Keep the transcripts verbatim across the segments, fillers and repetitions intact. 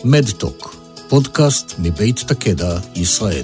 מדטוק, פודקאסט מבית תקדע, ישראל.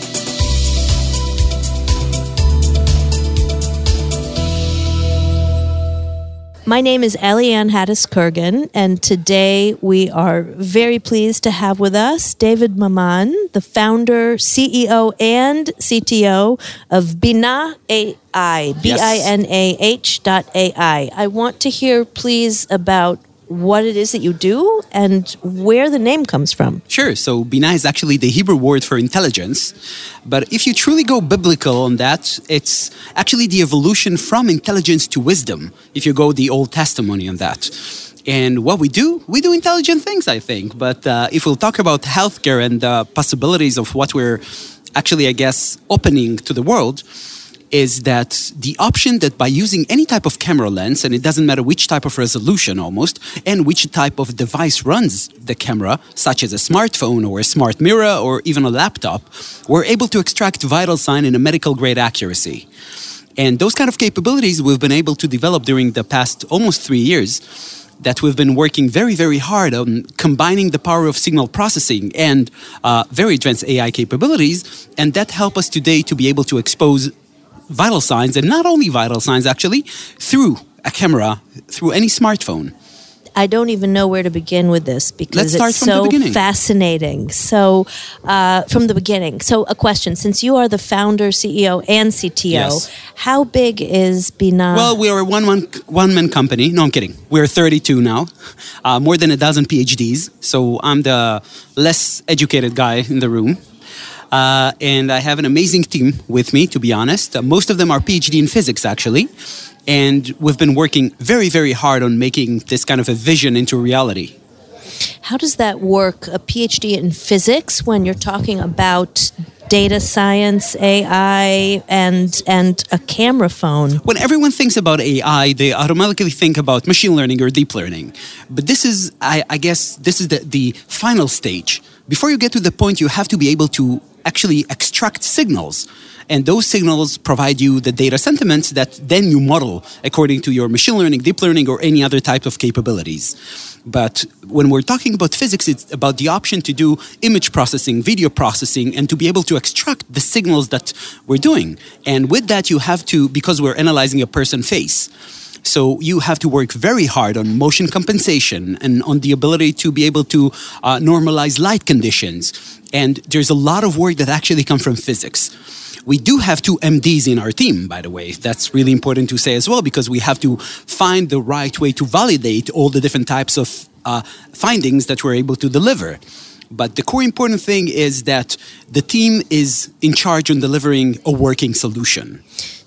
My name is Eliane Hattis-Kurgan, and today we are very pleased to have with us David Maman, the founder, C E O, and C T O of Binah A I, B I N A H dot A I. I want to hear, please, about what it is that you do and where the name comes from. Sure. So Binah is actually the Hebrew word for intelligence. But if you truly go biblical on that, it's actually the evolution from intelligence to wisdom, if you go the Old Testament on that. And what we do, we do intelligent things, I think. But uh, if we'll talk about healthcare and the possibilities of what we're actually, I guess, opening to the world, is that the option that by using any type of camera lens, and it doesn't matter which type of resolution almost, and which type of device runs the camera, such as a smartphone or a smart mirror or even a laptop, we're able to extract vital sign in a medical grade accuracy. And those kind of capabilities we've been able to develop during the past almost three years, that we've been working very, very hard on combining the power of signal processing and uh, very advanced A I capabilities, and that help us today to be able to expose vital signs, and not only vital signs actually, through a camera, through any smartphone. I don't even know where to begin with this because Let's it's start from so fascinating. So, uh, from the beginning. So, a question: since you are the founder, C E O, and C T O, yes. How big is Binah? Well, we are a one one one man company. No, I'm kidding. We're thirty-two now, uh, more than a dozen P H Ds. So I'm the less educated guy in the room. Uh, and I have an amazing team with me, to be honest. Uh, most of them are P H D in physics, actually. And we've been working very, very hard on making this kind of a vision into reality. How does that work, a P H D in physics, when you're talking about data science, A I, and and a camera phone? When everyone thinks about A I, they automatically think about machine learning or deep learning. But this is, I, I guess, this is the, the final stage. Before you get to the point, you have to be able to actually extract signals. And those signals provide you the data sentiments that then you model according to your machine learning, deep learning, or any other type of capabilities. But when we're talking about physics, it's about the option to do image processing, video processing, and to be able to extract the signals that we're doing. And with that, you have to, because we're analyzing a person's face, so you have to work very hard on motion compensation and on the ability to be able to uh, normalize light conditions. And there's a lot of work that actually comes from physics. We do have two M Ds in our team, by the way. That's really important to say as well, because we have to find the right way to validate all the different types of uh, findings that we're able to deliver. But the core important thing is that the team is in charge on delivering a working solution.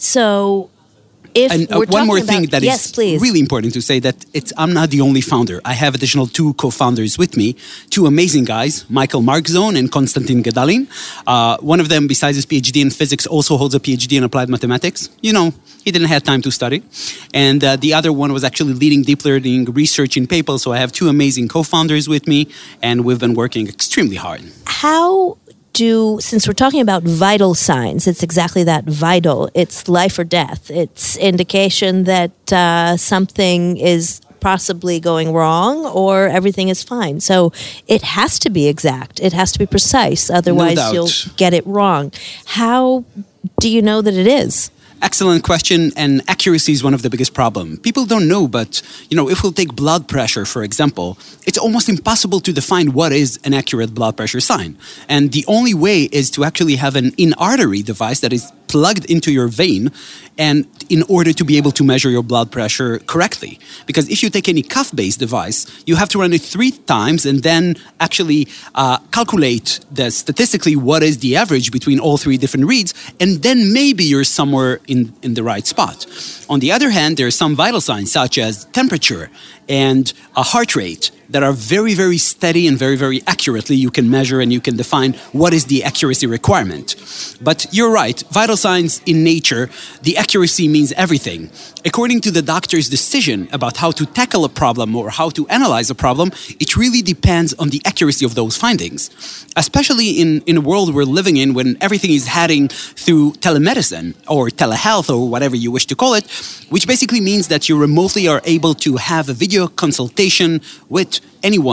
So, if and uh, we're one more about, thing that yes, is please. really important to say, that it's I'm not the only founder. I have additional two co-founders with me, two amazing guys, Michael Markzone and Konstantin Gedalin. Uh, one of them, besides his P H D in physics, also holds a P H D in applied mathematics. You know, he didn't have time to study. And uh, the other one was actually leading deep learning research in PayPal. So I have two amazing co-founders with me, and we've been working extremely hard. How do, since we're talking about vital signs, it's exactly that, vital. It's life or death. It's indication that uh, something is possibly going wrong or everything is fine. So it has to be exact. It has to be precise. Otherwise, No doubt. You'll get it wrong. How do you know that it is? Excellent question, and accuracy is one of the biggest problems. People don't know, but you know, if we'll take blood pressure, for example, it's almost impossible to define what is an accurate blood pressure sign. And the only way is to actually have an in-artery device that is plugged into your vein, and in order to be able to measure your blood pressure correctly. Because if you take any cuff-based device, you have to run it three times and then actually uh, calculate the statistically what is the average between all three different reads, and then maybe you're somewhere in, in the right spot. On the other hand, there are some vital signs such as temperature and a heart rate that are very, very steady and very, very accurately you can measure and you can define what is the accuracy requirement. But you're right, vital signs in nature, the accuracy means everything. According to the doctor's decision about how to tackle a problem or how to analyze a problem, it really depends on the accuracy of those findings. Especially in, in a world we're living in when everything is heading through telemedicine or telehealth or whatever you wish to call it, which basically means that you remotely are able to have a video consultation with anyone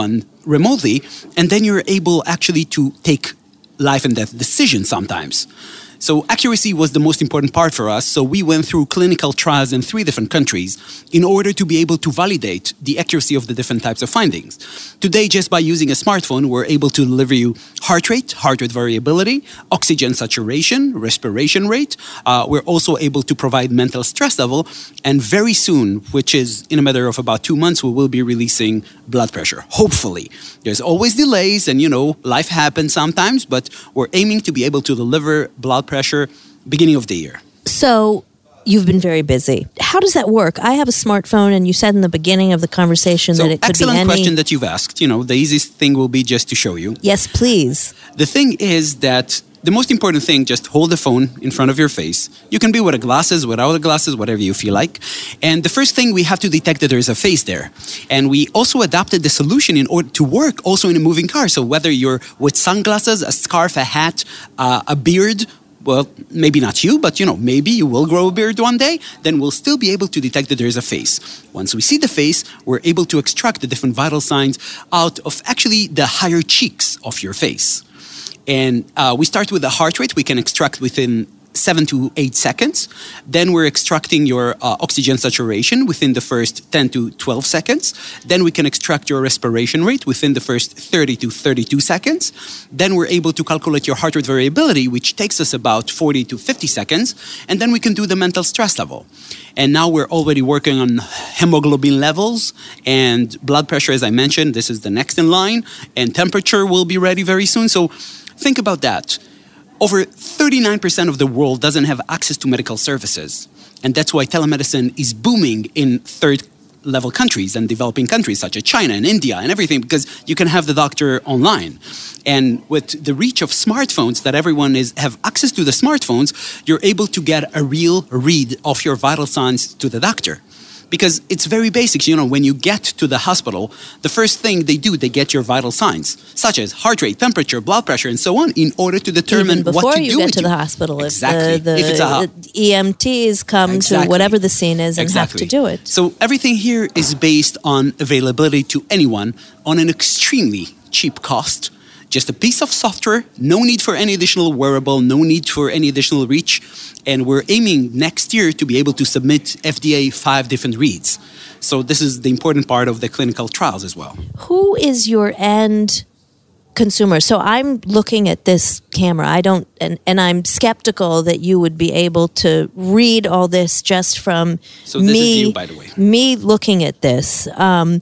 remotely, and then you're able actually to take life and death decisions sometimes. So accuracy was the most important part for us. So we went through clinical trials in three different countries in order to be able to validate the accuracy of the different types of findings. Today, just by using a smartphone, we're able to deliver you heart rate, heart rate variability, oxygen saturation, respiration rate. Uh, we're also able to provide mental stress level. And very soon, which is in a matter of about two months, we will be releasing blood pressure. Hopefully. There's always delays and, you know, life happens sometimes, but we're aiming to be able to deliver blood pressure beginning of the year. So you've been very busy. How does that work? I have a smartphone, and you said in the beginning of the conversation so that it could be any... excellent question that you've asked. You know, the easiest thing will be just to show you. Yes, please. The thing is that the most important thing, just hold the phone in front of your face. You can be with glasses, without the glasses, whatever you feel like. And the first thing, we have to detect that there is a face there. And we also adapted the solution in order to work also in a moving car. So whether you're with sunglasses, a scarf, a hat, uh, a beard, well, maybe not you, but, you know, maybe you will grow a beard one day, then we'll still be able to detect that there is a face. Once we see the face, we're able to extract the different vital signs out of actually the higher cheeks of your face. And uh, we start with the heart rate. We can extract within seven to eight seconds. Then we're extracting your uh, oxygen saturation within the first ten to twelve seconds. Then we can extract your respiration rate within the first thirty to thirty-two seconds. Then we're able to calculate your heart rate variability, which takes us about forty to fifty seconds. And then we can do the mental stress level. And now we're already working on hemoglobin levels and blood pressure, as I mentioned. This is the next in line. And temperature will be ready very soon. So think about that. Over thirty-nine percent of the world doesn't have access to medical services. And that's why telemedicine is booming in third-level countries and developing countries such as China and India and everything, because you can have the doctor online. And with the reach of smartphones, that everyone is have access to the smartphones, you're able to get a real read of your vital signs to the doctor. Because it's very basic. You know, when you get to the hospital, the first thing they do, they get your vital signs, such as heart rate, temperature, blood pressure, and so on, in order to determine Even what to do. Before you get to the hospital, exactly. if the, the, if it's a, the E M Ts come exactly. to whatever the scene is and exactly. have to do it. So everything here is based on availability to anyone on an extremely cheap cost. Just a piece of software, no need for any additional wearable, no need for any additional reach. And we're aiming next year to be able to submit F D A five different reads. So this is the important part of the clinical trials as well. Who is your end consumer? So I'm looking at this camera. I don't, and, and I'm skeptical that you would be able to read all this just from so this me, is you, by the way. me looking at this. Um,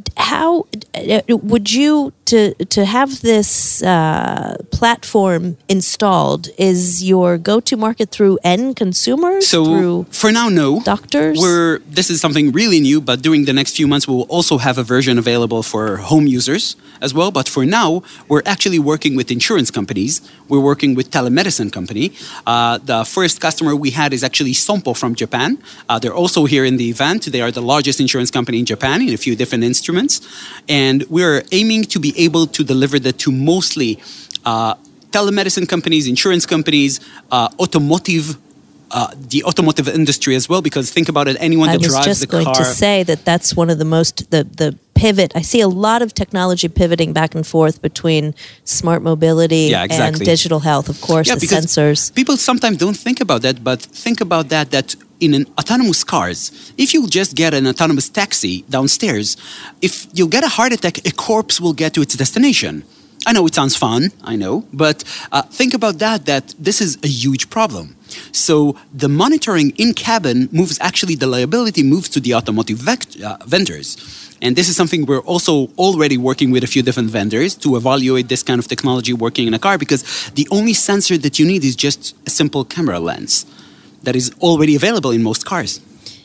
how would you to to have this uh, platform installed? Is your go-to market through end consumers? So through for now, no. Doctors? We're this is something really new, but during the next few months, we will also have a version available for home users as well. But for now, we're actually working with insurance companies. We're working with telemedicine company. Uh, the first customer we had is actually Sompo from Japan. Uh, they're also here in the event. They are the largest insurance company in Japan in a few different instruments. And we're aiming to be able to deliver that to mostly uh, telemedicine companies, insurance companies, uh, automotive, uh, the automotive industry as well. Because think about it, anyone that drives the car. I was just going to say that that's one of the most, the, the pivot. I see a lot of technology pivoting back and forth between smart mobility yeah, exactly. and digital health, of course, yeah, the because sensors. People sometimes don't think about that, but think about that, that in an autonomous cars, if you just get an autonomous taxi downstairs, if you get a heart attack, a corpse will get to its destination. I know it sounds fun, I know, but uh, think about that, that this is a huge problem. So the monitoring in cabin moves, actually the liability moves to the automotive vect- uh, vendors. And this is something we're also already working with a few different vendors to evaluate this kind of technology working in a car, because the only sensor that you need is just a simple camera lens that is already available in most cars.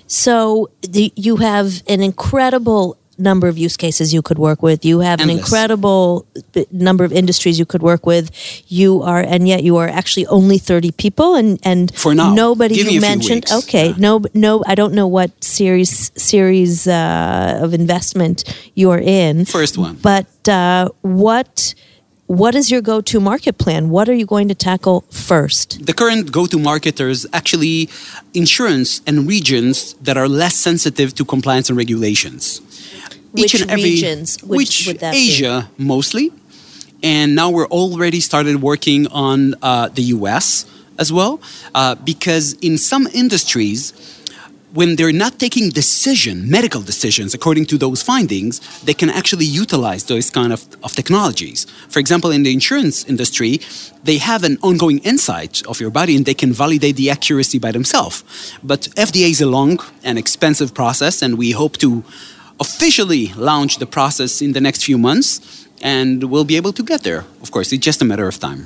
So the, you have an incredible number of use cases you could work with. You have Endless. an incredible number of industries you could work with. You are, and yet you are actually only thirty people, and and for now, nobody give me you a few mentioned. weeks. Okay, yeah. no, no, I don't know what series series uh, of investment you're in. First one, but uh, what. What is your go-to market plan? What are you going to tackle first? The current go-to marketers actually insurance and regions that are less sensitive to compliance and regulations. Which each and every regions would, which would that Asia mostly, and now we're already started working on uh, the U S as well, uh, because in some industries, when they're not taking decision, medical decisions, according to those findings, they can actually utilize those kind of, of technologies. For example, in the insurance industry, they have an ongoing insight of your body and they can validate the accuracy by themselves. But F D A is a long and expensive process, and we hope to officially launch the process in the next few months, and we'll be able to get there. Of course, it's just a matter of time.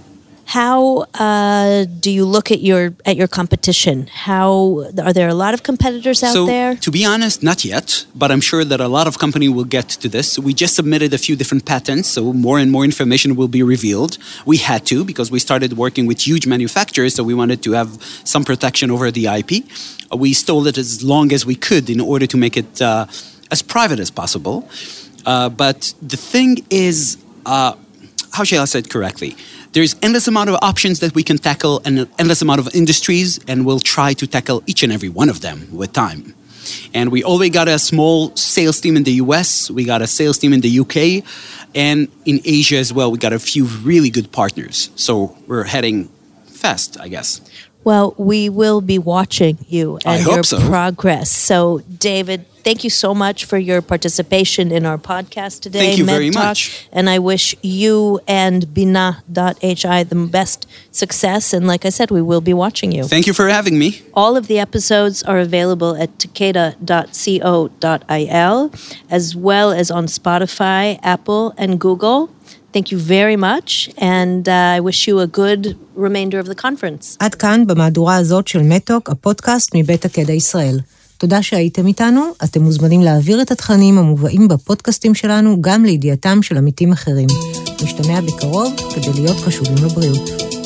How uh, do you look at your at your competition? How are there a lot of competitors out so, there? To be honest, not yet, but I'm sure that a lot of companies will get to this. We just submitted a few different patents, so more and more information will be revealed. We had to because we started working with huge manufacturers, so we wanted to have some protection over the I P. We stole it as long as we could in order to make it uh, as private as possible. Uh, but the thing is, uh, how shall I say it correctly? There's endless amount of options that we can tackle and an endless amount of industries, and we'll try to tackle each and every one of them with time. And we already got a small sales team in the U S, we got a sales team in the U K, and in Asia as well, we got a few really good partners. So we're heading fast, I guess. Well, we will be watching you and I hope your so. progress. So, David, thank you so much for your participation in our podcast today. Thank you Med very Talk, much. And I wish you and Bina dot H I the best success. And like I said, we will be watching you. Thank you for having me. All of the episodes are available at takeda dot co dot I L, as well as on Spotify, Apple, and Google. Thank you very much, and uh, I wish you a good remainder of the conference. עד כאן במהדורה הזאת של מדטוק, הפודקאסט מבית תקדע ישראל. תודה שהייתם איתנו, אתם מוזמנים להעביר את התכנים המובאים בפודקאסטים שלנו גם לידיעתם של עמיתים אחרים. נשתמע בקרוב כדי להיות קשובים לבריאות.